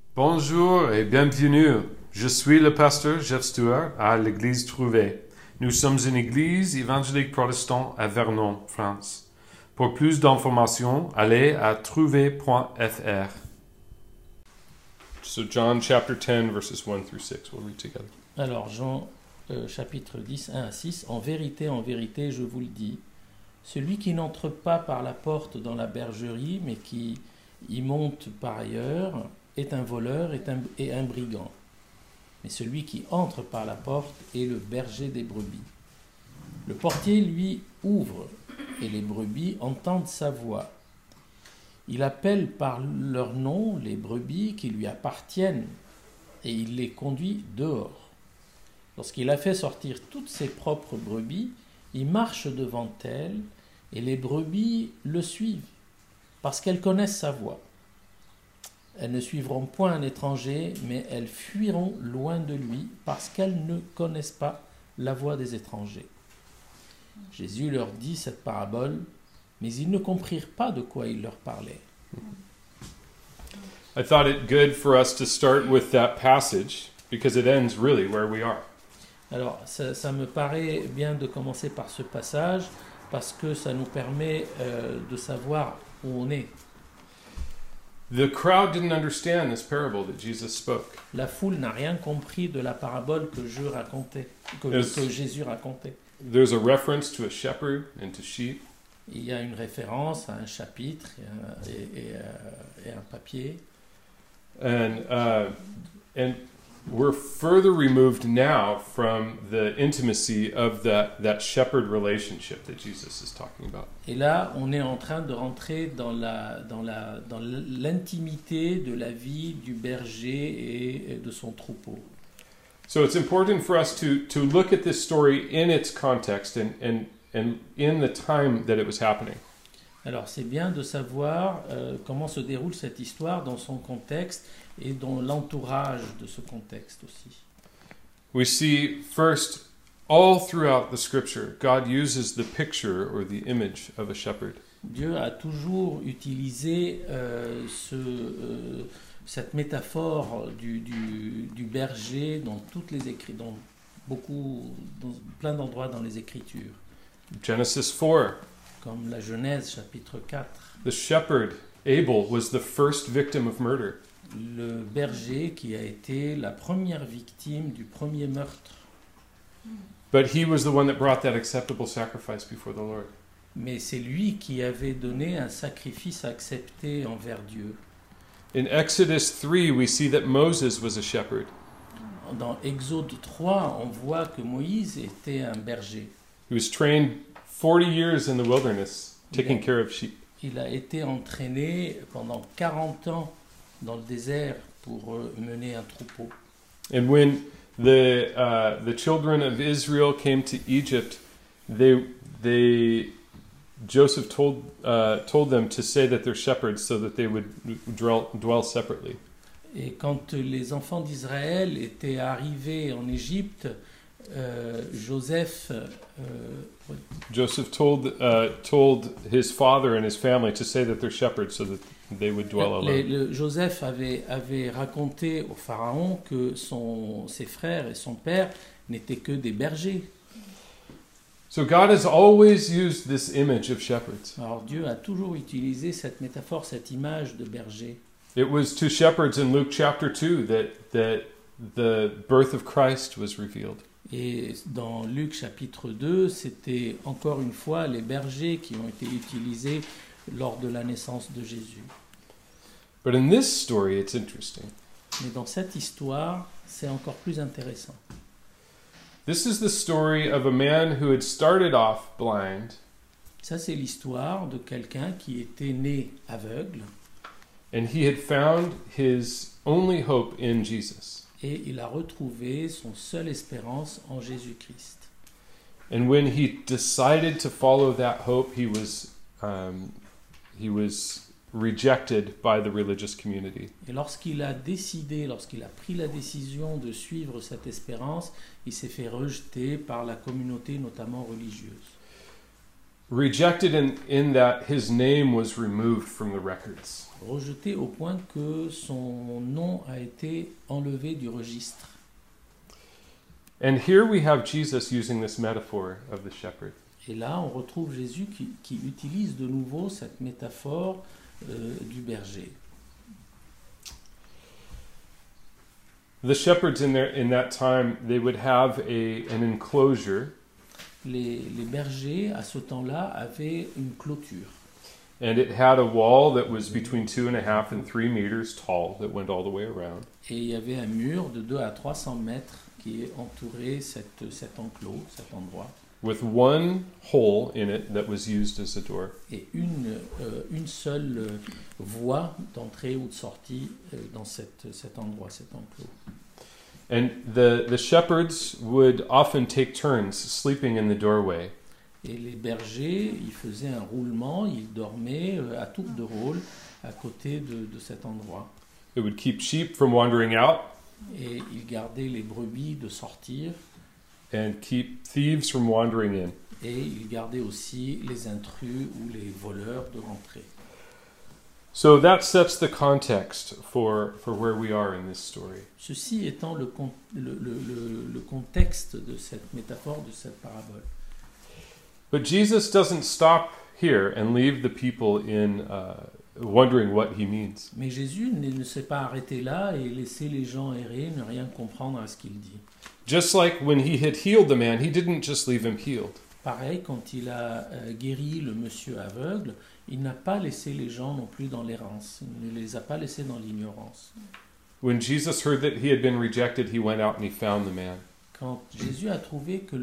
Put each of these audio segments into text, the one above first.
Bonjour et bienvenue. Je suis le pasteur Jeff Stewart à l'église Trouvé. Nous sommes une église évangélique protestante à Vernon, France. Pour plus d'informations, allez à trouvé.fr. So John chapter 10 verses 1 through 6. We'll read together. Alors Jean chapitre 10, 1 à 6, en vérité, je vous le dis, celui qui n'entre pas par la porte dans la bergerie, mais qui y monte par ailleurs, est un voleur et un brigand. Mais celui qui entre par la porte est le berger des brebis. Le portier, lui, ouvre, et les brebis entendent sa voix. Il appelle par leur nom les brebis qui lui appartiennent, et il les conduit dehors. Lorsqu'il a fait sortir toutes ses propres brebis, il marche devant elles, et les brebis le suivent, parce qu'elles connaissent sa voix. Elles ne suivront point un étranger, mais elles fuiront loin de lui, parce qu'elles ne connaissent pas la voix des étrangers. Jésus leur dit cette parabole, mais ils ne comprirent pas de quoi il leur parlait. I thought it good for us to start with that passage because it ends really where we are. Alors, ça me paraît bien de commencer par ce passage, parce que ça nous permet de savoir où on est. The crowd didn't understand this parable that Jesus spoke. La foule n'a rien compris de la parabole que Jésus racontait. There's a reference to a shepherd and to sheep. Il y a une référence à un chapitre et un papier. And we're further removed now from the intimacy of that shepherd relationship that Jesus is talking about. Et là, on est en train de rentrer dans l'intimité de la vie du berger et de son troupeau. So it's important for us to look at this story in its context and in the time that it was happening. Alors c'est bien de savoir comment se déroule cette histoire dans son contexte et dans l'entourage de ce contexte aussi. We see first, all throughout the scripture, God uses the picture or the image of a shepherd. Dieu a toujours utilisé cette métaphore du berger dans toutes les dans plein d'endroits dans les Écritures. Genesis 4. Comme la Genèse chapitre 4. The shepherd, Abel, was the first victim of murder. Le berger qui a été la première victime du premier meurtre. But he was the one that brought that acceptable sacrifice before the Lord. Mais c'est lui qui avait donné un sacrifice accepté envers Dieu. In Exodus 3, we see that Moses was a shepherd. Dans Exode 3, on voit que Moïse était un berger. He was trained 40 years in the wilderness, taking care of sheep. Il a été entraîné pendant 40 ans dans le désert pour mener un troupeau. And when the children of Israel came to Egypt, Joseph told them to say that they're shepherds so that they would dwell separately. Et quand les enfants d'Israël étaient arrivés en Égypte, Joseph told his father and his family to say that they're shepherds so that they would dwell alone. Joseph avait raconté au pharaon que ses frères et son père n'étaient que des bergers. So God has always used this image of shepherds. Alors Dieu a toujours utilisé cette métaphore, cette image de berger. It was to shepherds in Luke chapter 2 that the birth of Christ was revealed. Et dans Luc chapitre 2, c'était encore une fois les bergers qui ont été utilisés lors de la naissance de Jésus. But in this story, it's interesting. Mais dans cette histoire, c'est encore plus intéressant. This is the story of a man who had started off blind. Ça, c'est l'histoire de quelqu'un qui était né aveugle. And he had found his only hope in Jesus. Et il a retrouvé son seule espérance en Jésus-Christ. And when he decided to follow that hope, he was rejected by the religious community. Et lorsqu'il a pris la décision de suivre cette espérance, il s'est fait rejeter par la communauté, notamment religieuse. rejected in that his name was removed from the records. Rejeté au point que son nom a été enlevé du registre. And here we have Jesus using this metaphor of the shepherd. Et là, on retrouve Jésus qui utilise de nouveau cette métaphore du berger. The shepherds in that time, they would have an enclosure, Les bergers, à ce temps-là, avaient une clôture. and it had a wall that was between 2.5 and 3 meters tall that went all the way around. Et il y avait un mur de 2 à 300 mètres qui entourait cet enclos, cet endroit. With one hole in it that was used as a door. Et une seule voie d'entrée ou de sortie dans cet endroit, cet enclos. And the shepherds would often take turns sleeping in the doorway. Et les bergers, ils faisaient un roulement, ils dormaient à tour de rôle à côté de cet endroit. It would keep sheep from wandering out Et ils gardaient les brebis de sortir and keep thieves from wandering in. et ils gardaient aussi les intrus ou les voleurs de rentrer. So that sets the context for where we are in this story. Ceci étant le contexte de cette métaphore, de cette parabole. But Jesus doesn't stop here and leave the people in wondering what he means. Mais Jésus ne s'est pas arrêté là et laissé les gens errer, ne rien comprendre à ce qu'il dit. Just like when he had healed the man, he didn't just leave him healed. Pareil, quand il a guéri le monsieur aveugle, il n'a pas laissé les gens non plus dans l'errance. Il ne les a pas laissés dans l'ignorance. When Jesus heard that he had been rejected, he went out and he found the man. Quand Jésus a trouvé que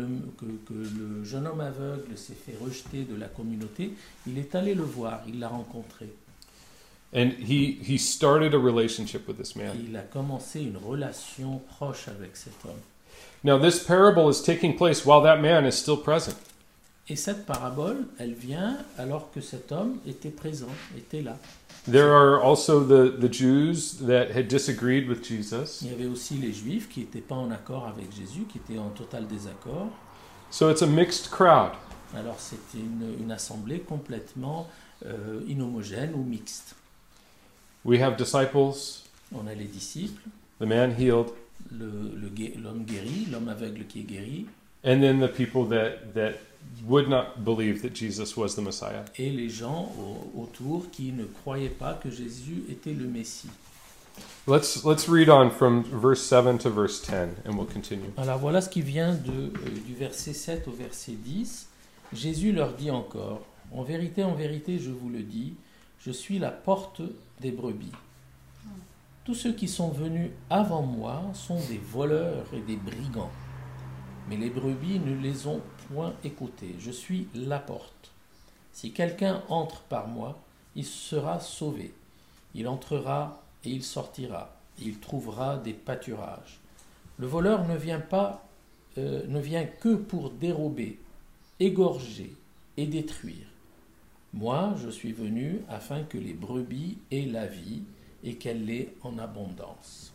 le jeune homme aveugle s'est fait rejeter de la communauté, il est allé le voir, il l'a rencontré. And he started a relationship with this Et man. il a commencé une relation proche avec cet homme. Now, this parable is taking place while that man is still present. Et cette parabole, elle vient alors que cet homme était présent, était là. There are also the Jews that had disagreed with Jesus. Il y avait aussi les Juifs qui n'étaient pas en accord avec Jésus, qui étaient en total désaccord. So it's a mixed crowd. Alors c'était une assemblée complètement inhomogène ou mixte. We have disciples, On a les disciples, the man healed, l'homme guéri, l'homme aveugle qui est guéri, and then the people that would not believe that Jesus was the Messiah. et les gens autour qui ne croyaient pas que Jésus était le Messie. Let's read on from verse 7 to verse 10, and we'll continue. Alors voilà ce qui vient du verset 7 au verset 10. Jésus leur dit encore, en vérité, je vous le dis, je suis la porte des brebis. Tous ceux qui sont venus avant moi sont des voleurs et des brigands. Mais les brebis ne les ont point écoutés. Je suis la porte. Si quelqu'un entre par moi, il sera sauvé. Il entrera et il sortira. Et il trouvera des pâturages. Le voleur ne vient que pour dérober, égorger et détruire. Moi, je suis venu afin que les brebis aient la vie et qu'elle l'ait en abondance.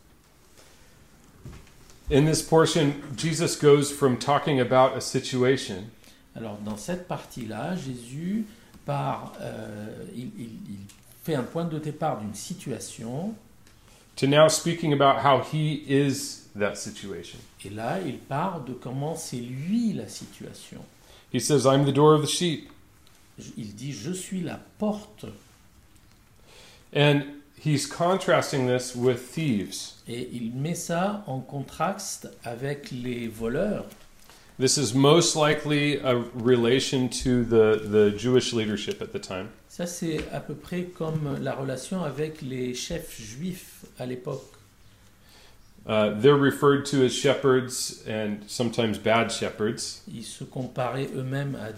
In this portion, Jesus goes from talking about a situation Alors, dans cette partie-là, Jésus il fait un point de départ d'une situation, to now speaking about how he is that situation. et là, il part de comment c'est lui la situation. He says, I'm the door of the sheep. Il dit, je suis la porte. And he's contrasting this with thieves. Et il met ça en contraste avec les voleurs. This is most likely a relation to the Jewish leadership at the time. Ça, c'est à peu près comme la relation avec les chefs juifs à l'époque. They're referred to as shepherds and sometimes bad shepherds. Ils se comparaient eux-mêmes à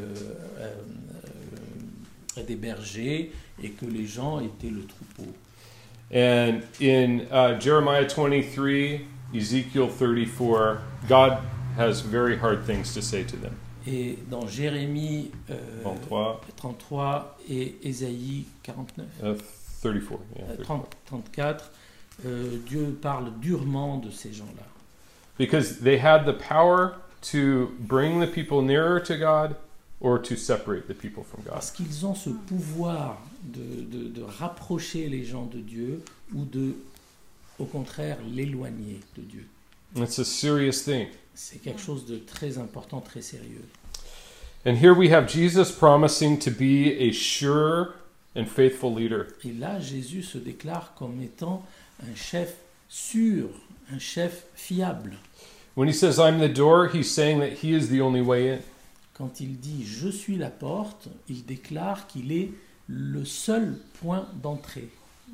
des bergers et que les gens étaient le troupeau. And in Jeremiah 23, Ezekiel 34, God has very hard things to say to them. Et dans Jérémie 33, 33 et Ésaïe 49, 34, yeah, 34, Dieu parle durement de ces gens-là. Because they had the power to bring the people nearer to God or to separate the people from God. Parce qu'ils ont ce pouvoir de rapprocher les gens de Dieu ou de, au contraire, l'éloigner de Dieu. It's a serious thing. C'est quelque chose de très important, très sérieux. And here we have Jesus promising to be a sure and faithful leader. Et là, Jésus se déclare comme étant un chef sûr, un chef fiable. When he says, I'm the door, he's saying that he is the only way in. Quand il dit « Je suis la porte », il déclare qu'il est le seul point d'entrée.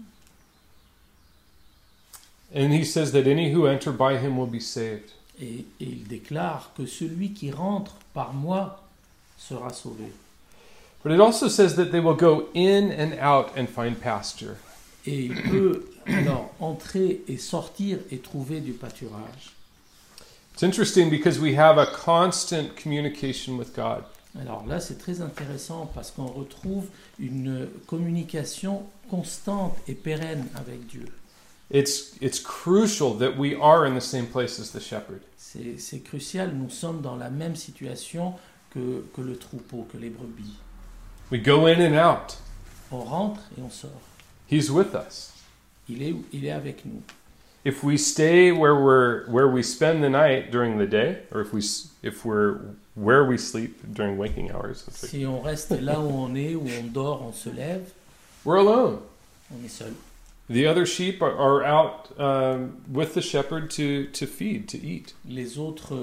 And he says that any who enter by him will be saved. Et il déclare que celui qui rentre par moi sera sauvé. But it also says that they will go in and out and find pasture. Et il peut alors entrer et sortir et trouver du pâturage. It's interesting because we have a constant communication with God. Alors là, c'est très intéressant parce qu'on retrouve une communication constante et pérenne avec Dieu. It's crucial that we are in the same place as the shepherd. C'est crucial, nous sommes dans la même situation que le troupeau, que les brebis. We go in and out. On rentre et on sort. He's with us. Il est avec nous. If we stay where we spend the night during the day, or if we're where we sleep during waking hours, Si on reste là où on est, où on dort, on se lève, we're alone. on est seul. The other sheep are out with the shepherd to feed, to eat. Les autres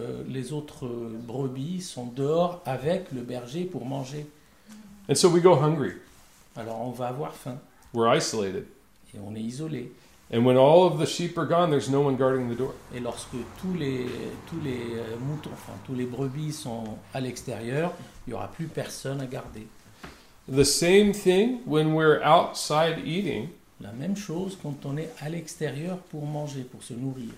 brebis sont dehors avec le berger pour manger. And so we go hungry. Alors on va avoir faim We're isolated. et on est isolé. And when all of the sheep are gone, there's no one guarding the door. Et lorsque tous les moutons, enfin tous les brebis sont à l'extérieur, il n'y aura plus personne à garder. The same thing when we're outside eating. La même chose quand on est à l'extérieur pour manger, pour se nourrir.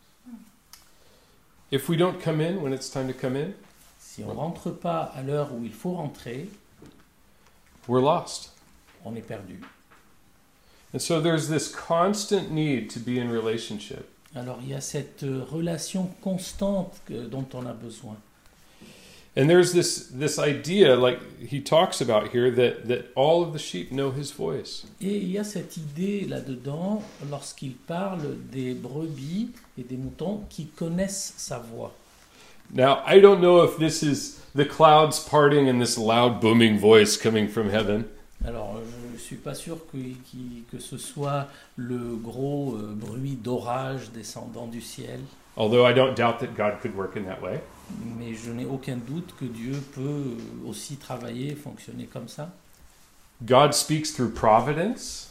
If we don't come in when it's time to come in, Si on ne rentre pas à l'heure où il faut rentrer, we're lost. on est perdu. And so there's this constant need to be in relationship. Alors il y a cette relation constante dont on a besoin. And there's this idea, like he talks about here, that all of the sheep know his voice. Et il y a cette idée là-dedans, lorsqu'il parle des brebis et des moutons qui connaissent sa voix. Now, I don't know if this is the clouds parting and this loud booming voice coming from heaven. Alors je ne suis pas sûr que ce soit le gros bruit d'orage descendant du ciel, Although I don't doubt that God could work in that way. mais je n'ai aucun doute que Dieu peut aussi travailler, fonctionner comme ça. God speaks through providence,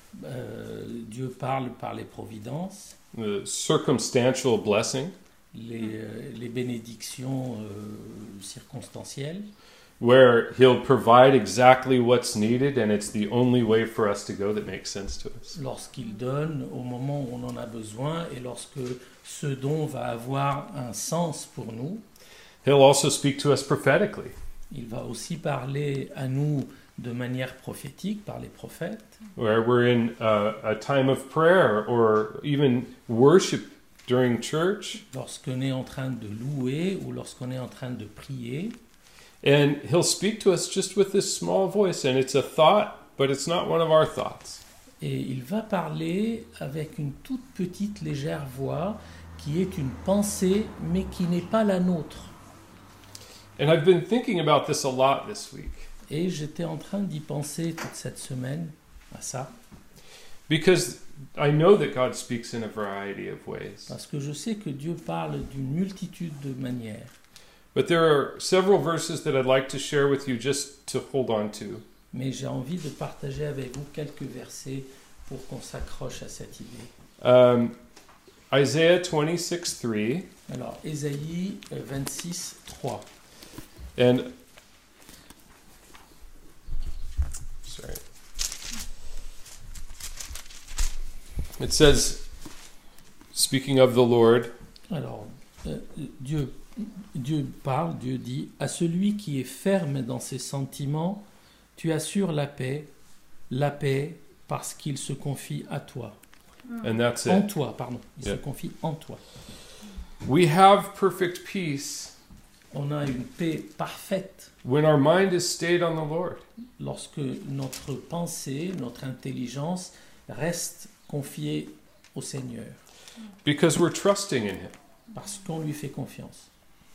Dieu parle par les providences, the circumstantial blessing, les bénédictions circonstancielles, where he'll provide exactly what's needed and it's the only way for us to go that makes sense to us. lorsqu'il donne au moment où on en a besoin et lorsque ce don va avoir un sens pour nous. He'll also speak to us prophetically. Il va aussi parler à nous de manière prophétique par les prophètes. Where we're in a time of prayer or even worship during church. Lorsqu'on est en train de louer ou lorsqu'on est en train de prier. And he'll speak to us just with this small voice, and it's a thought, but it's not one of our thoughts. Et il va parler avec une toute petite légère voix qui est une pensée mais qui n'est pas la nôtre. And I've been thinking about this a lot this week. Et j'étais en train d'y penser toute cette semaine à ça. Because I know that God speaks in a variety of ways. Parce que je sais que Dieu parle d'une multitude de manières. But there are several verses that I'd like to share with you just to hold on to. Mais j'ai envie de partager avec vous quelques versets pour qu'on s'accroche à cette idée. Isaiah 26:3. Alors, Ésaïe 26, 3. And sorry. It says, speaking of the Lord, Alors, Dieu parle, Dieu dit, à celui qui est ferme dans ses sentiments, tu assures la paix parce qu'il se confie à toi. and that's En it. toi, pardon. Il Yeah. se confie en toi. We have perfect peace On a une paix parfaite when our mind is stayed on the Lord. lorsque notre pensée, notre intelligence reste confiée au Seigneur, Because we're trusting in Him. parce qu'on lui fait confiance.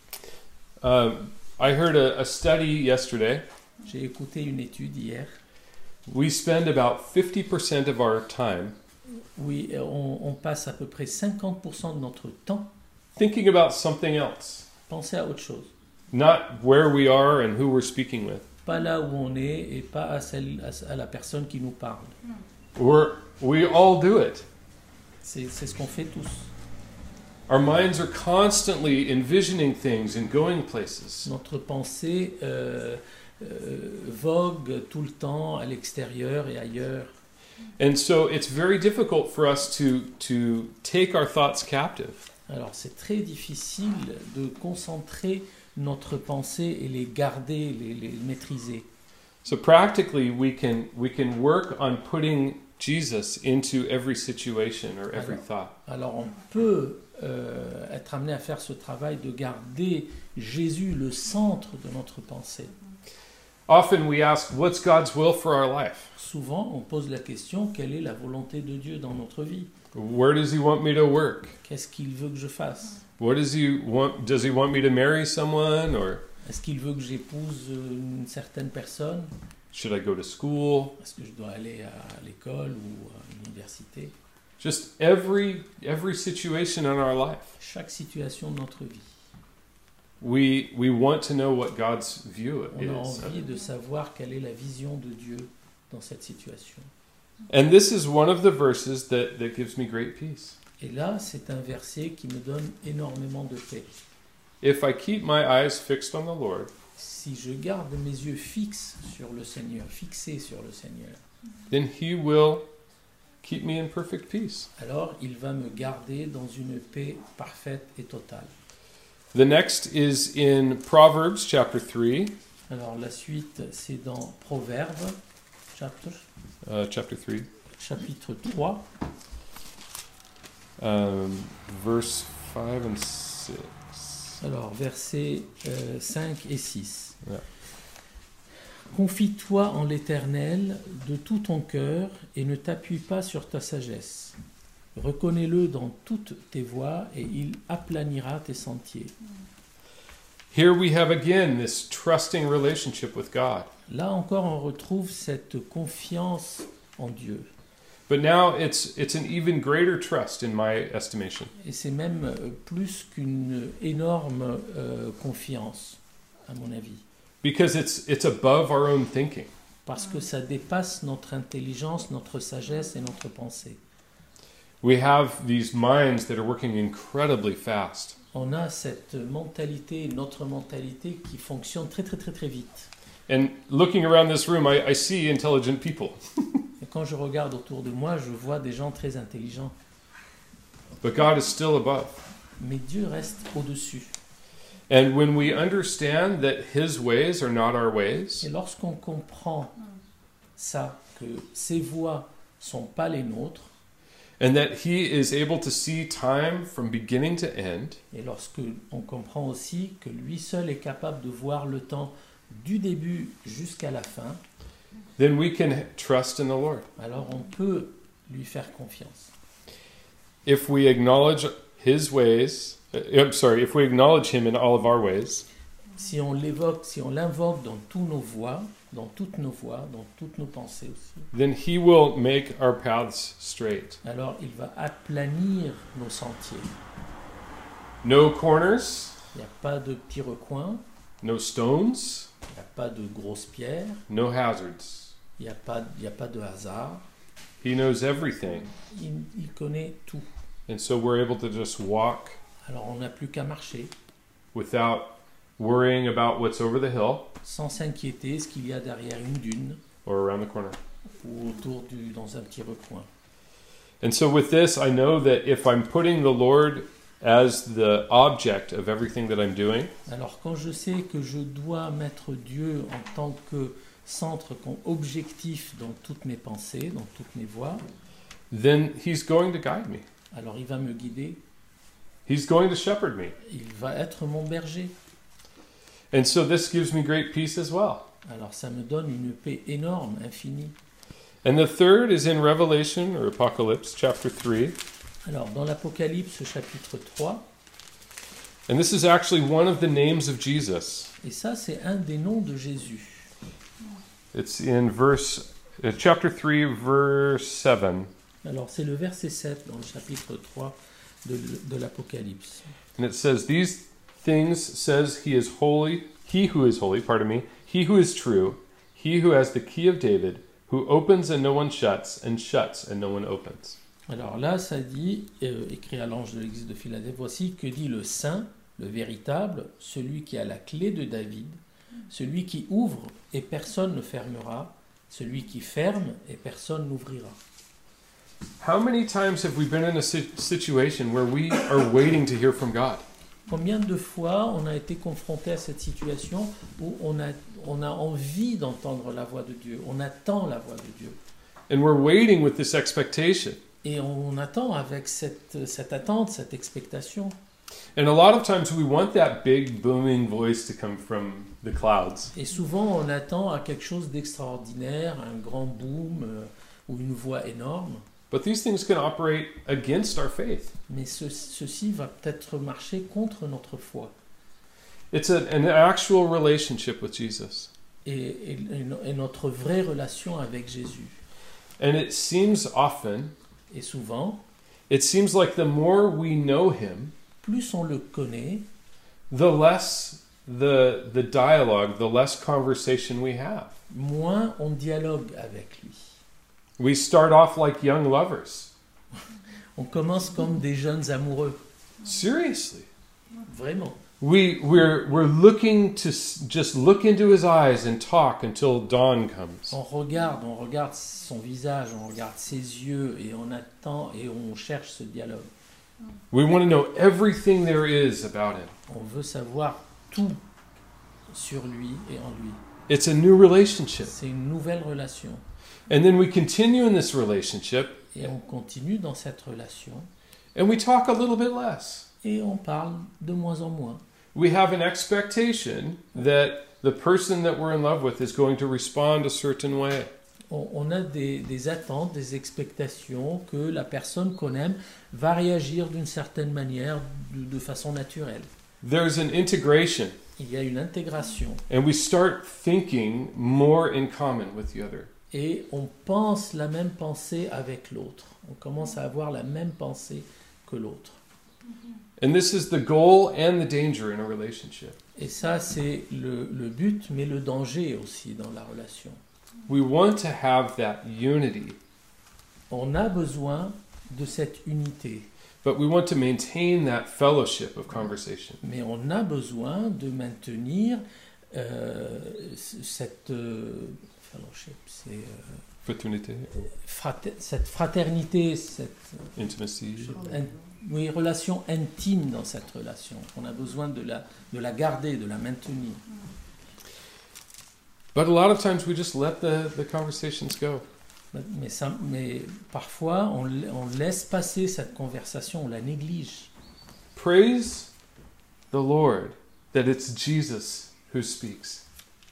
I heard a study yesterday. J'ai écouté une étude hier. We spend about 50% of our time Oui, on passe à peu près 50% de notre temps thinking about something else, penser à autre chose. not where we are and who we're speaking with. Pas là où on est et pas à la personne qui nous parle. We all do it. C'est ce qu'on fait tous. Our minds are constantly envisioning things and going places. Notre pensée vogue tout le temps à l'extérieur et ailleurs. And so it's very difficult for us to take our thoughts captive. Alors c'est très difficile de concentrer notre pensée et les garder, les maîtriser. So practically we can work on putting Jesus into every situation or every thought. Alors on peut être amené à faire ce travail de garder Jésus le centre de notre pensée. Often we ask, what's God's will for our life? Souvent on pose la question, quelle est la volonté de Dieu dans notre vie? Where does He want me to work? Qu'est-ce qu'il veut que je fasse? What does He want? Does He want me to marry someone, or Est-ce qu'il veut que j'épouse une certaine personne? should I go to school? Est-ce que je dois aller à l'école ou à l'université? Just every situation in our life. Chaque situation de notre vie. We want to know what God's view On a is. envie de savoir quelle est la vision de Dieu dans cette situation. And this is one of the verses that gives me great peace. Et là, c'est un verset qui me donne énormément de paix. If I keep my eyes fixed on the Lord, Si je garde mes yeux fixés sur le Seigneur, then He will keep me in perfect peace. alors il va me garder dans une paix parfaite et totale. The next is in Proverbs chapter 3. Alors la suite, c'est dans Proverbes, chapitre Chapter 3. 3, Verse 5 and 6. alors versets 5 et 6. Yeah. Confie-toi en l'Éternel de tout ton cœur et ne t'appuie pas sur ta sagesse. Reconnais-le dans toutes tes voies et il aplanira tes sentiers. Here we have again this trusting relationship with God. Là encore, on retrouve cette confiance en Dieu. But now it's an even greater trust in my estimation. Et c'est même plus qu'une énorme confiance, à mon avis. Because it's above our own thinking. Parce que ça dépasse notre intelligence, notre sagesse et notre pensée. We have these minds that are working incredibly fast. On a cette mentalité, notre mentalité qui fonctionne très très très très vite. And looking around this room, I see intelligent people. Et quand je regarde autour de moi, je vois des gens très intelligents. But God is still above. Mais Dieu reste au-dessus. And when we understand that His ways are not our ways, Et lorsqu'on comprend ça, que ses voies sont pas les nôtres, and that He is able to see time from beginning to end, et lorsque on comprend aussi que lui seul est capable de voir le temps du début jusqu'à la fin, then we can trust in the Lord. alors on peut lui faire confiance. If we acknowledge His ways, if we acknowledge Him in all of our ways, Si on l'évoque, si on l'invoque dans tous nos voies, dans toutes nos voies, dans toutes nos pensées aussi, then He will make our paths straight. alors il va aplanir nos sentiers. No corners, Il n'y a pas de petits recoins, no stones, il n'y a pas de grosses pierres, no hazards. il n'y a pas de hasard. He knows everything. Il connaît tout. And so we're able to just walk Alors on n'a plus qu'à marcher without worrying about what's over the hill sans s'inquiéter ce qu'il y a derrière une dune or around the corner. ou dans un petit recoin. And so with this, I know that if I'm putting the Lord as the object of everything that I'm doing, Alors quand je sais que je dois mettre Dieu en tant que centre, comme objectif dans toutes mes pensées, dans toutes mes voies, then He's going to guide me. alors il va me guider, He's going to shepherd me. il va être mon berger. And so this gives me great peace as well. Alors ça me donne une paix énorme, infinie. And the third is in Revelation or Apocalypse chapter 3. Alors dans l'Apocalypse chapitre 3, And this is actually one of the names of Jesus. et ça c'est un des noms de Jésus. It's in chapter 3, verse 7. Alors c'est le verset 7 dans le chapitre 3 de l'Apocalypse. And it says, "These things says he who is holy, he who is true, he who has the key of David, who opens and no one shuts, and shuts and no one opens." Alors là, ça dit, écrit à l'ange de l'église de Philadelphie, voici que dit le saint, le véritable, celui qui a la clé de David, celui qui ouvre et personne ne fermera, celui qui ferme et personne n'ouvrira. How many times have we been in a situation where we are waiting to hear from God? Combien de fois on a été confronté à cette situation où on a envie d'entendre la voix de Dieu, on attend la voix de Dieu. And we're waiting with this expectation. Et on attend avec cette attente, cette expectation. And a lot of times we want that big booming voice to come from the clouds. Et souvent on attend à quelque chose d'extraordinaire, un grand boom ou une voix énorme. But these things can operate against our faith. Mais ceci va peut-être marcher contre notre foi. It's an actual relationship with Jesus. Et notre vraie relation avec Jésus. And it seems often, Et souvent, it seems like the more we know him, plus on le connaît, the less the dialogue, the less conversation we have. moins on dialogue avec lui. We start off like young lovers. On commence comme des jeunes amoureux. Seriously. Vraiment. We're looking to just look into his eyes and talk until dawn comes. On regarde son visage, on regarde ses yeux et on attend et on cherche ce dialogue. We want to know everything there is about him. On veut savoir tout sur lui et en lui. It's a new relationship. C'est une nouvelle relation. And then we continue in this relationship Et on continue dans cette relation and we talk a little bit less. et on parle de moins en moins. We have an expectation that the person that we're in love with is going to respond a certain way. On a des attentes, des expectations que la personne qu'on aime va réagir d'une certaine manière, de façon naturelle. There's an integration, Il y a une intégration and we start thinking more in common with the other. et on pense la même pensée avec l'autre. On commence à avoir la même pensée que l'autre. And this is the goal and the danger in a relationship. Et ça, c'est le but, mais le danger aussi dans la relation. We want to have that unity, On a besoin de cette unité, but we want to maintain that fellowship of conversation. mais on a besoin de maintenir cette fellowship, c'est Fraternité, cette fraternité, cette intimacy. oui, relation intime dans cette relation. On a besoin de la garder, de la maintenir. But a lot of times we just let the conversations go. Mais parfois, on laisse passer cette conversation, on la néglige. Praise the Lord that it's Jesus who speaks.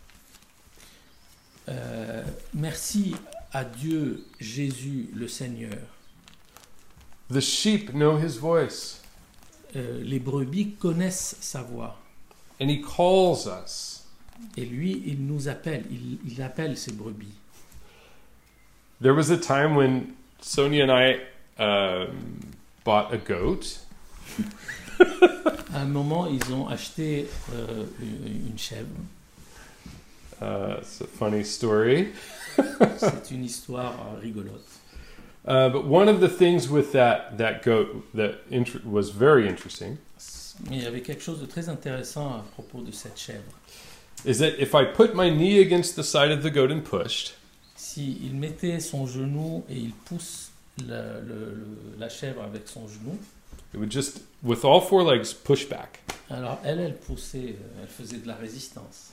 Merci à Dieu, Jésus, le Seigneur. The sheep know his voice, Les brebis connaissent sa voix. and he calls us. Et lui, il nous appelle, il appelle ses brebis. There was a time when Sonia and I bought a goat, À un moment, ils ont acheté une chèvre. it's a funny story. C'est une histoire rigolote. But one of the things with that goat that was very interesting Mais il y avait quelque chose de très intéressant à propos de cette chèvre. is that if I put my knee against the side of the goat and pushed, Si il mettait son genou et il pousse la chèvre avec son genou, it would just, with all four legs, push back. alors elle poussait, elle faisait de la résistance.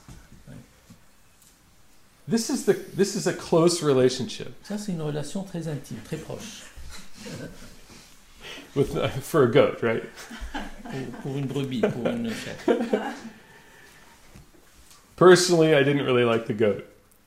This is a close relationship Ça, c'est une relation très intime, très proche. for a goat, right? Pour une brebis, pour une chèvre. Personally, I didn't really like the goat.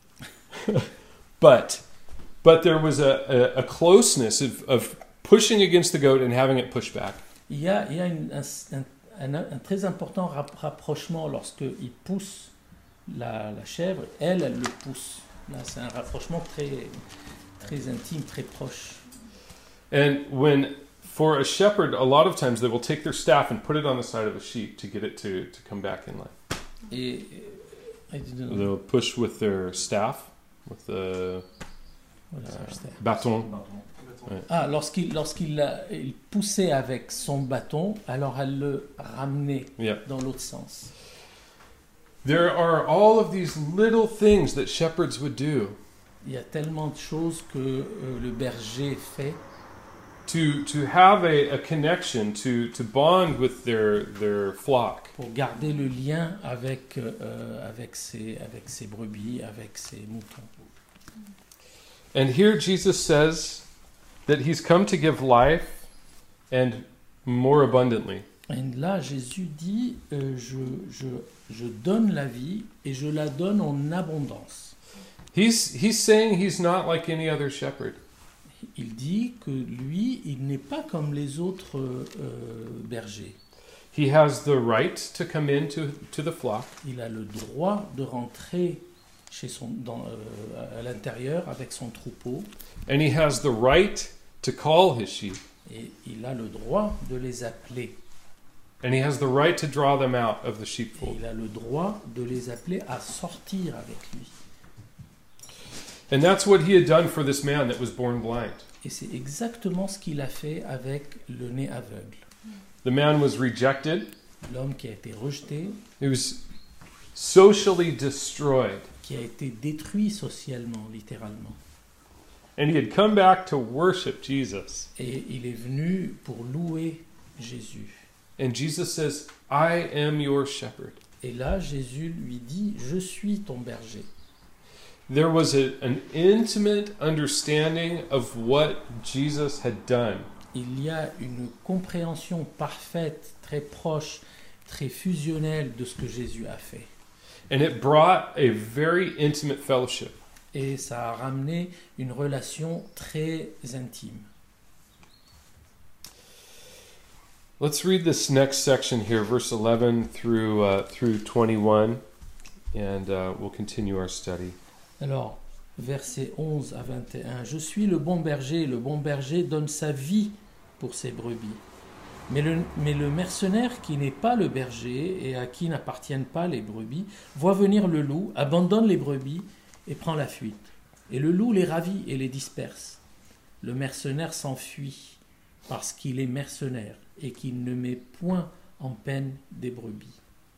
but there was a closeness of pushing against the goat and having it push back. Il y a un très important rapprochement lorsqu'il pousse la chèvre, elle le pousse. Là, c'est un rapprochement très intime, très proche. And for a shepherd, a lot of times they will take their staff and put it on the side of a sheep to get it to come back in line. Et They'll push with their staff, with the bâton. Ouais. Ah, lorsqu'il il poussait avec son bâton, alors elle le ramenait dans l'autre sens. There are all of these little things that shepherds would do. Il y a tellement de choses que le berger fait. To have a connection, to bond with their flock. Pour garder le lien avec ses brebis, avec ses moutons. And here Jesus says that he's come to give life and more abundantly. Et là, Jésus dit, je donne la vie et je la donne en abondance. He's saying he's not like any other shepherd. Il dit que lui, il n'est pas comme les autres bergers. He has the right to come into the flock. Il a le droit de rentrer à l'intérieur avec son troupeau. And he has the right to call his sheep. Et il a le droit de les appeler. And he has the right to draw them out of the Et sheepfold. il a le droit de les appeler à sortir avec lui. And that's what he had done for this man that was born blind. Et c'est exactement ce qu'il a fait avec le né aveugle. The man was rejected. L'homme qui a été rejeté, He was socially destroyed. qui a été détruit socialement, littéralement. And he had come back to worship Jesus. Et il est venu pour louer Jésus. And Jesus says, I am your shepherd. Et là, Jésus lui dit, je suis ton berger. There was an intimate understanding of what Jesus had done. Il y a une compréhension parfaite, très proche, très fusionnelle de ce que Jésus a fait. And it brought a very intimate fellowship. Et ça a ramené une relation très intime. Let's read this next section here, verse 11 through 21, and we'll continue our study. Alors, versets 11 à 21. Je suis le bon berger donne sa vie pour ses brebis. Mais le mercenaire qui n'est pas le berger et à qui n'appartiennent pas les brebis, voit venir le loup, abandonne les brebis et prend la fuite. Et le loup les ravit et les disperse. Le mercenaire s'enfuit parce qu'il est mercenaire et qu'il ne met point en peine des brebis.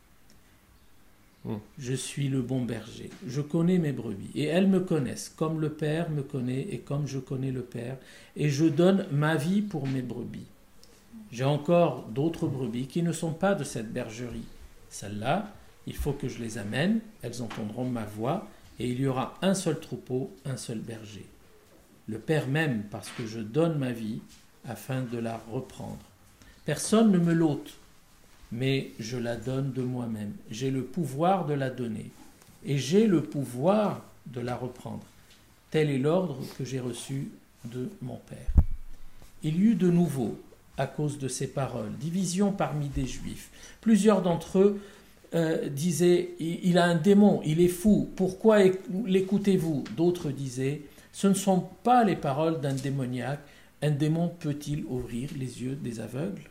Je suis le bon berger, je connais mes brebis, et elles me connaissent, comme le Père me connaît, et comme je connais le Père, et je donne ma vie pour mes brebis. J'ai encore d'autres brebis qui ne sont pas de cette bergerie. Celles-là, il faut que je les amène, elles entendront ma voix, et il y aura un seul troupeau, un seul berger. Le Père m'aime parce que je donne ma vie afin de la reprendre. Personne ne me l'ôte, mais je la donne de moi-même. J'ai le pouvoir de la donner, et j'ai le pouvoir de la reprendre. Tel est l'ordre que j'ai reçu de mon Père. Il y eut de nouveau, à cause de ces paroles, division parmi des Juifs. Plusieurs d'entre eux disaient, il a un démon, il est fou, pourquoi l'écoutez-vous? D'autres disaient, ce ne sont pas les paroles d'un démoniaque, un démon peut-il ouvrir les yeux des aveugles?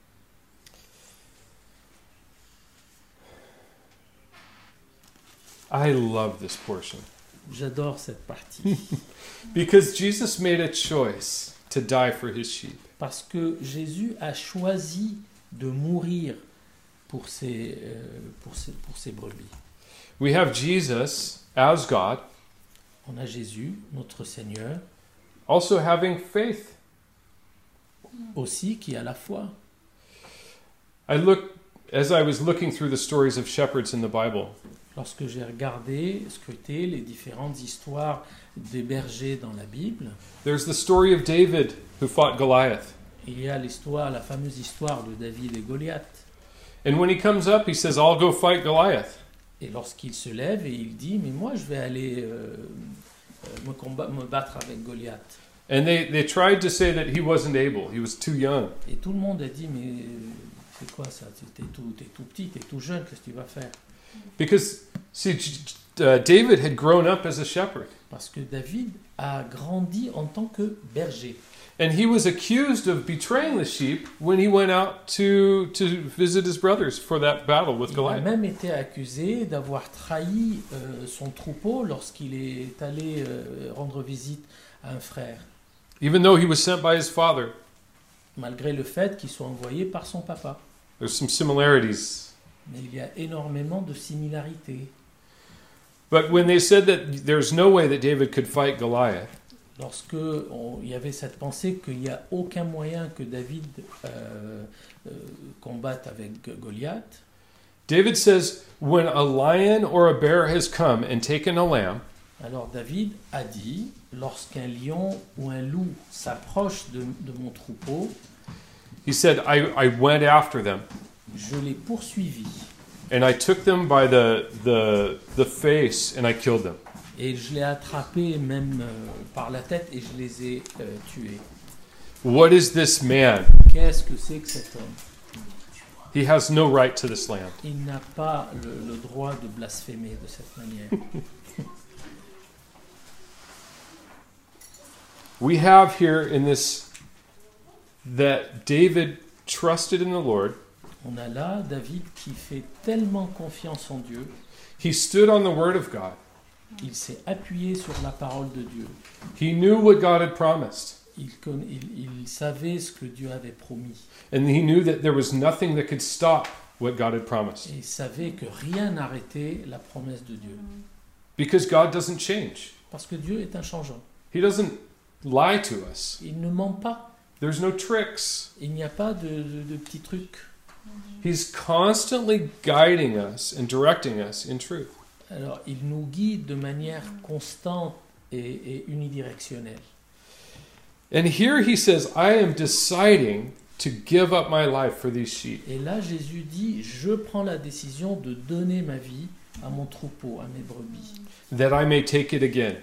I love this portion. J'adore cette partie. Because Jesus made a choice to die for his sheep. Parce que Jésus a choisi de mourir pour ses brebis. We have Jesus as God, On a Jésus, notre Seigneur, also having faith. aussi qui a la foi. As I was looking through the stories of shepherds in the Bible, Lorsque j'ai regardé, scruté les différentes histoires des bergers dans la Bible, there's the story of David who fought Goliath. il y a la fameuse histoire de David et Goliath. And when he comes up, he says, I'll go fight Goliath. Et lorsqu'il se lève et il dit, mais moi je vais aller me battre avec Goliath. And they tried to say that he wasn't able. He was too young. Et tout le monde a dit, mais c'est quoi ça? T'es tout petit, t'es tout jeune, qu'est-ce que tu vas faire? Because, see, David had grown up as a shepherd. Parce que David a grandi en tant que berger. And he was accused of betraying the sheep when he went out to visit his brothers for that battle with Il a Goliath. même été accusé d'avoir trahi son troupeau lorsqu'il est allé rendre visite à un frère, Even though he was sent by his father, malgré le fait qu'il soit envoyé par son papa. there's some similarities. Mais il y a énormément de similarités. But when they said that there's no way that David could fight Goliath, Lorsque il y avait cette pensée qu'il n'y a aucun moyen que David combatte avec Goliath, David says, when a lion or a bear has come and taken a lamb, alors David a dit, lorsqu'un lion ou un loup s'approche de mon troupeau, he said, I went after them, je l'ai poursuivi and I took them by the face, and I killed them. et je l'ai attrapé même par la tête et je les ai tués. What is this man? Qu'est-ce que c'est que cet homme? He has no right to this land. Il n'a pas le droit de blasphémer de cette manière. We have here in this that David trusted in the Lord. On a là David qui fait tellement confiance en Dieu, He stood on the word of God. il s'est appuyé sur la parole de Dieu. He knew what God had promised. Il savait ce que Dieu avait promis. And he knew that there was nothing that could stop what God had promised. Et il savait que rien n'arrêtait la promesse de Dieu. Because God doesn't change. Parce que Dieu est inchangeant. He doesn't lie to us. Il ne ment pas. There's no tricks. Il n'y a pas de petits trucs. He's constantly guiding us and directing us in truth. Alors, il nous guide de manière constante et unidirectionnelle. And here he says, I am deciding to give up my life for these sheep. Et là, Jésus dit, je prends la décision de donner ma vie à mon troupeau, à mes brebis. That I may take it again.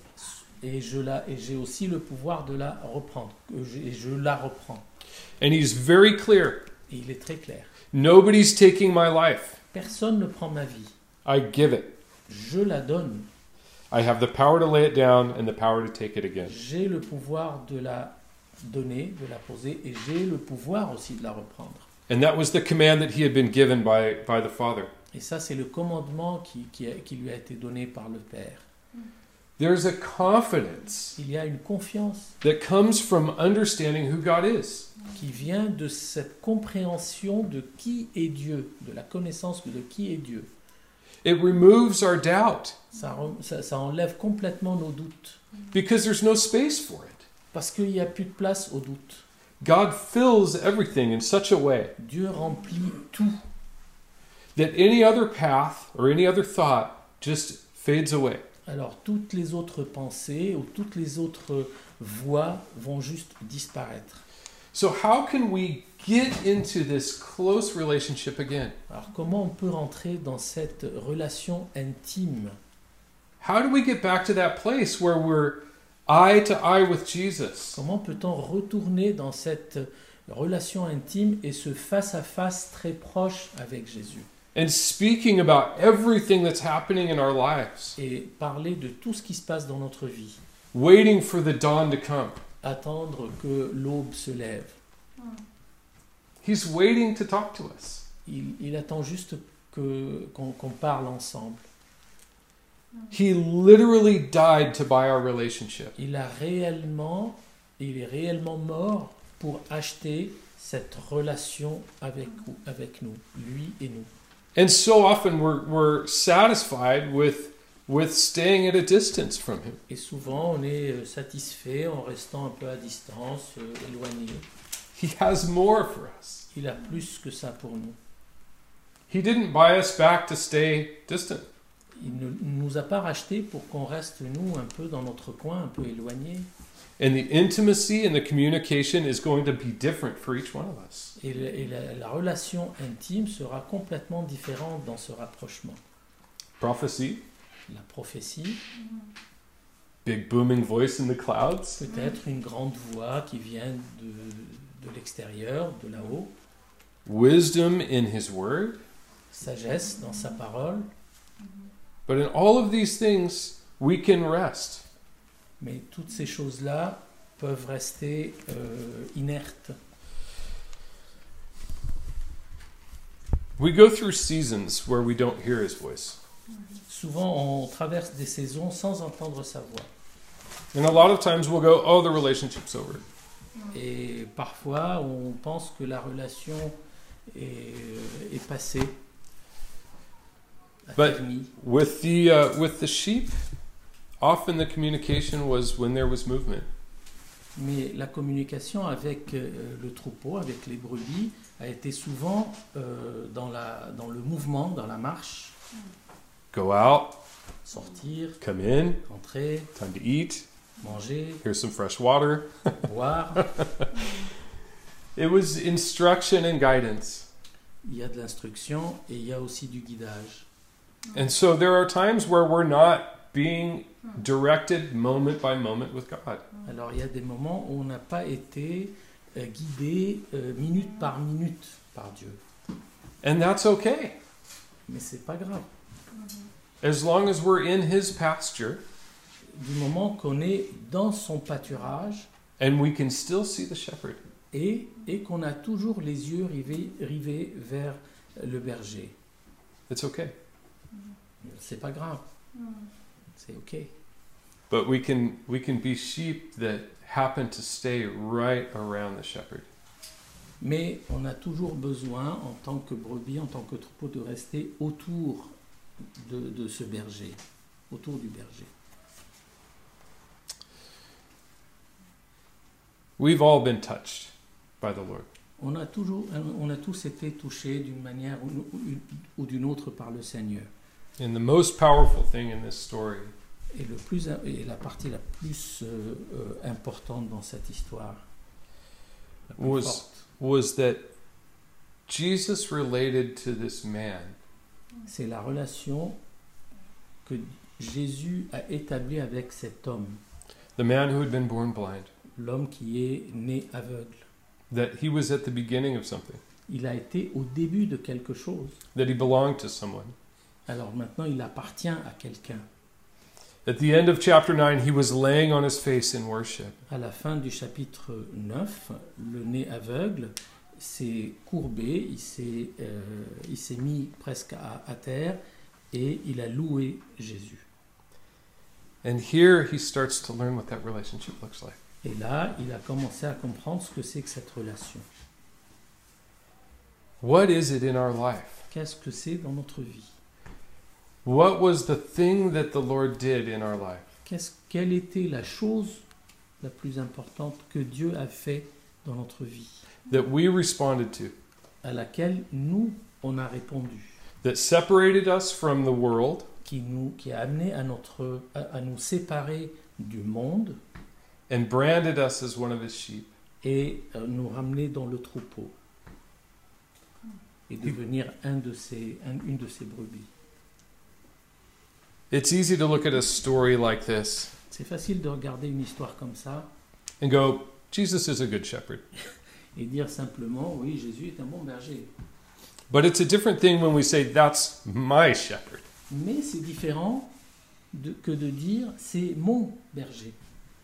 Et j'ai aussi le pouvoir de la reprendre. Et je la reprends. And he's very clear. Et il est très clair. Nobody's taking my life. Personne ne prend ma vie. I give it. Je la donne. I have the power to lay it down and the power to take it again. J'ai le pouvoir de la donner, de la poser, et j'ai le pouvoir aussi de la reprendre. And that was the command that he had been given by the Father. Et ça, c'est le commandement qui lui a été donné par le Père. There's a confidence Il y a une confiance that comes from understanding who God is. qui vient de cette compréhension de qui est Dieu, de la connaissance de qui est Dieu. It removes our doubt Ça enlève complètement nos doutes, because there's no space for it. parce qu'il n'y a plus de place aux doutes. God fills everything in such a way Dieu remplit tout, that any other path or any other thought just fades away. alors toutes les autres pensées ou toutes les autres voies vont juste disparaître. So how can we get into this close relationship again? Alors comment on peut rentrer dans cette relation intime? How do we get back to that place where we're eye to eye with Jesus? Comment peut-on retourner dans cette relation intime et ce face-à-face très proche avec Jésus? And speaking about everything that's happening in our lives, Et parler de tout ce qui se passe dans notre vie. waiting for the dawn to come. Attendre que l'aube se lève. He's waiting to talk to us. Il attend juste qu'on parle ensemble. He literally died to buy our relationship. Il est réellement mort pour acheter cette relation avec nous, lui et nous. And so often we're satisfied with staying at a distance from him. Et souvent, on est satisfait en restant un peu à distance, éloigné. He has more for us. Il a plus que ça pour nous. He didn't buy us back to stay distant. Il ne nous a pas rachetés pour qu'on reste, nous, un peu dans notre coin, un peu éloigné. And the intimacy and the communication is going to be different for each one of us. Et la relation intime sera complètement différente dans ce rapprochement. Prophecy, la prophétie, big booming voice in the clouds, peut-être une grande voix qui vient de l'extérieur, de là-haut, wisdom in his word. sagesse dans sa parole. But in all of these things, we can rest. Mais toutes ces choses-là peuvent rester inertes. We go through seasons where we don't hear his voice. Souvent, on traverse des saisons sans entendre sa voix. And a lot of times we'll go, oh, the relationship's over. Et parfois, on pense que la relation est passée, a But- fini. With the sheep, often the communication was when there was movement. Mais la communication avec le troupeau, avec les brebis, a été souvent dans le mouvement, dans la marche. Go out, Sortir, come in, entrer, time to eat, manger, here's some fresh water. boire. It was instruction and guidance. Il y a de l'instruction et il y a aussi du guidage. And so there are times where we're not being directed moment by moment with God. Alors il y a des moments où on n'a pas été guidé minute par minute par Dieu. And that's okay. Mais c'est pas grave. As long as we're in his pasture Du moment qu'on est dans son pâturage and we can still see the shepherd. et qu'on a toujours les yeux rivés vers le berger. It's okay. C'est pas grave. C'est ok. But we can be sheep that happen to stay right around the shepherd. Mais on a toujours besoin, en tant que brebis, en tant que troupeau, de rester autour de ce berger, autour du berger. We've all been touched by the Lord. On a tous été touchés d'une manière ou d'une autre par le Seigneur. And the most powerful thing in this story Et la partie la plus importante dans cette histoire, la plus Was- forte, was that Jesus related to this man c'est la relation que Jésus a établie avec cet homme, the man who had been born blind, l'homme qui est né aveugle. that he was at the beginning of something, Il a été au début de quelque chose. that he belonged to someone. Alors maintenant, il appartient à quelqu'un. At the end of chapter 9, he was laying on his face in worship. À la fin du chapitre 9, le nez aveugle s'est courbé, il s'est mis presque à terre et il a loué Jésus. And here he starts to learn what that relationship looks like. Et là, il a commencé à comprendre ce que c'est que cette relation. What is it in our life? Qu'est-ce que c'est dans notre vie? What was the thing that the Lord did in our life? Quelle était la chose la plus importante que Dieu a fait dans notre vie, That we responded to, à laquelle nous, on a répondu, that separated us from the world qui a amené à nous séparer du monde and branded us as one of his sheep? et nous ramener dans le troupeau et devenir une de ses brebis. It's easy to look at a story like this C'est facile de regarder une histoire comme ça and go, Jesus is a good shepherd. et dire simplement, oui, Jésus est un bon berger. But it's a different thing when we say, that's my shepherd. Mais c'est différent que de dire, c'est mon berger.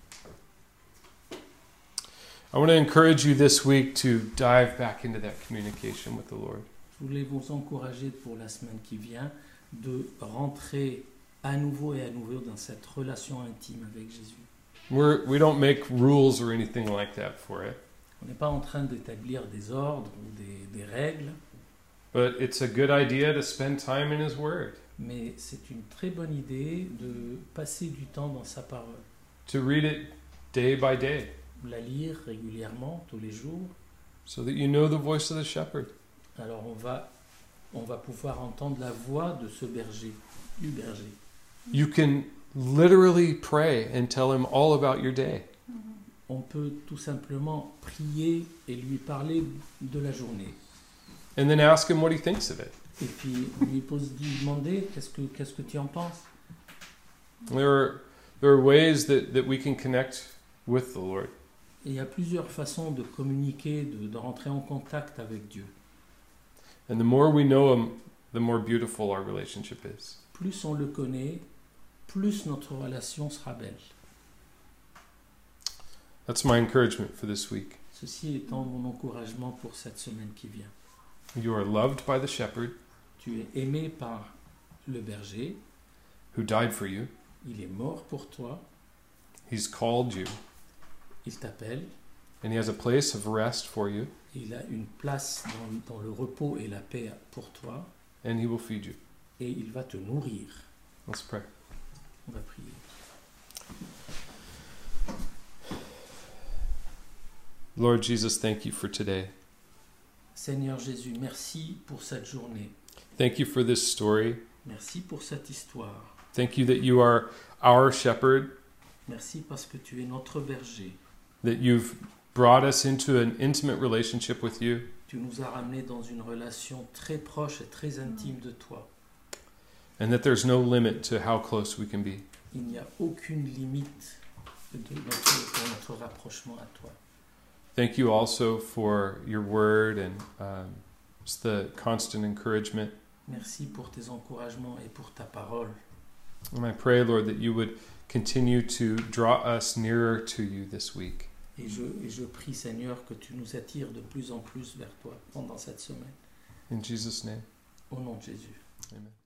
I want to encourage you this week to dive back into that communication with the Lord. Je voulais vous encourager pour la semaine qui vient de rentrer à nouveau dans cette relation intime avec Jésus. We don't make rules or anything like that for it, On n'est pas en train d'établir des ordres ou des règles, but it's a good idea to spend time in His Word, mais c'est une très bonne idée de passer du temps dans sa parole, to read it day by day, la lire régulièrement, tous les jours. so that you know the voice of the shepherd. Alors on va pouvoir entendre la voix de ce berger, du berger. You can literally pray and tell Him all about your day. On peut tout simplement prier et lui parler de la journée. And then ask Him what He thinks of it. Et puis lui demander qu'est-ce que tu en penses. There are ways that we can connect with the Lord. Et il y a plusieurs façons de communiquer, de rentrer en contact avec Dieu. And the more we know Him, the more beautiful our relationship is. Plus on le connaît, plus notre relation sera belle. That's my encouragement for this week. Ceci étant mon encouragement pour cette semaine qui vient. You are loved by the shepherd Tu es aimé par le berger, who died for you. il est mort pour toi, He's called you, il t'appelle, and He has a place of rest for you, il a une place dans le repos et la paix pour toi, and He will feed you. et il va te nourrir. Let's pray. On va prier. Lord Jesus, thank you for today. Seigneur Jésus, merci pour cette journée. Thank you for this story. Merci pour cette histoire. Thank you that you are our shepherd, Merci parce que tu es notre berger. that you've brought us into an intimate relationship with you, Tu nous as ramenés dans une relation très proche et très intime de toi. and that there's no limit to how close we can be. Il n'y a aucune limite pour notre rapprochement à toi. Thank you also for your word and just the constant encouragement. Merci pour tes encouragements et pour ta parole. And I pray, Lord, that you would continue to draw us nearer to you this week. Et je prie, Seigneur, que tu nous attires de plus en plus vers toi pendant cette semaine. In Jesus' name, Au nom de Jésus. amen.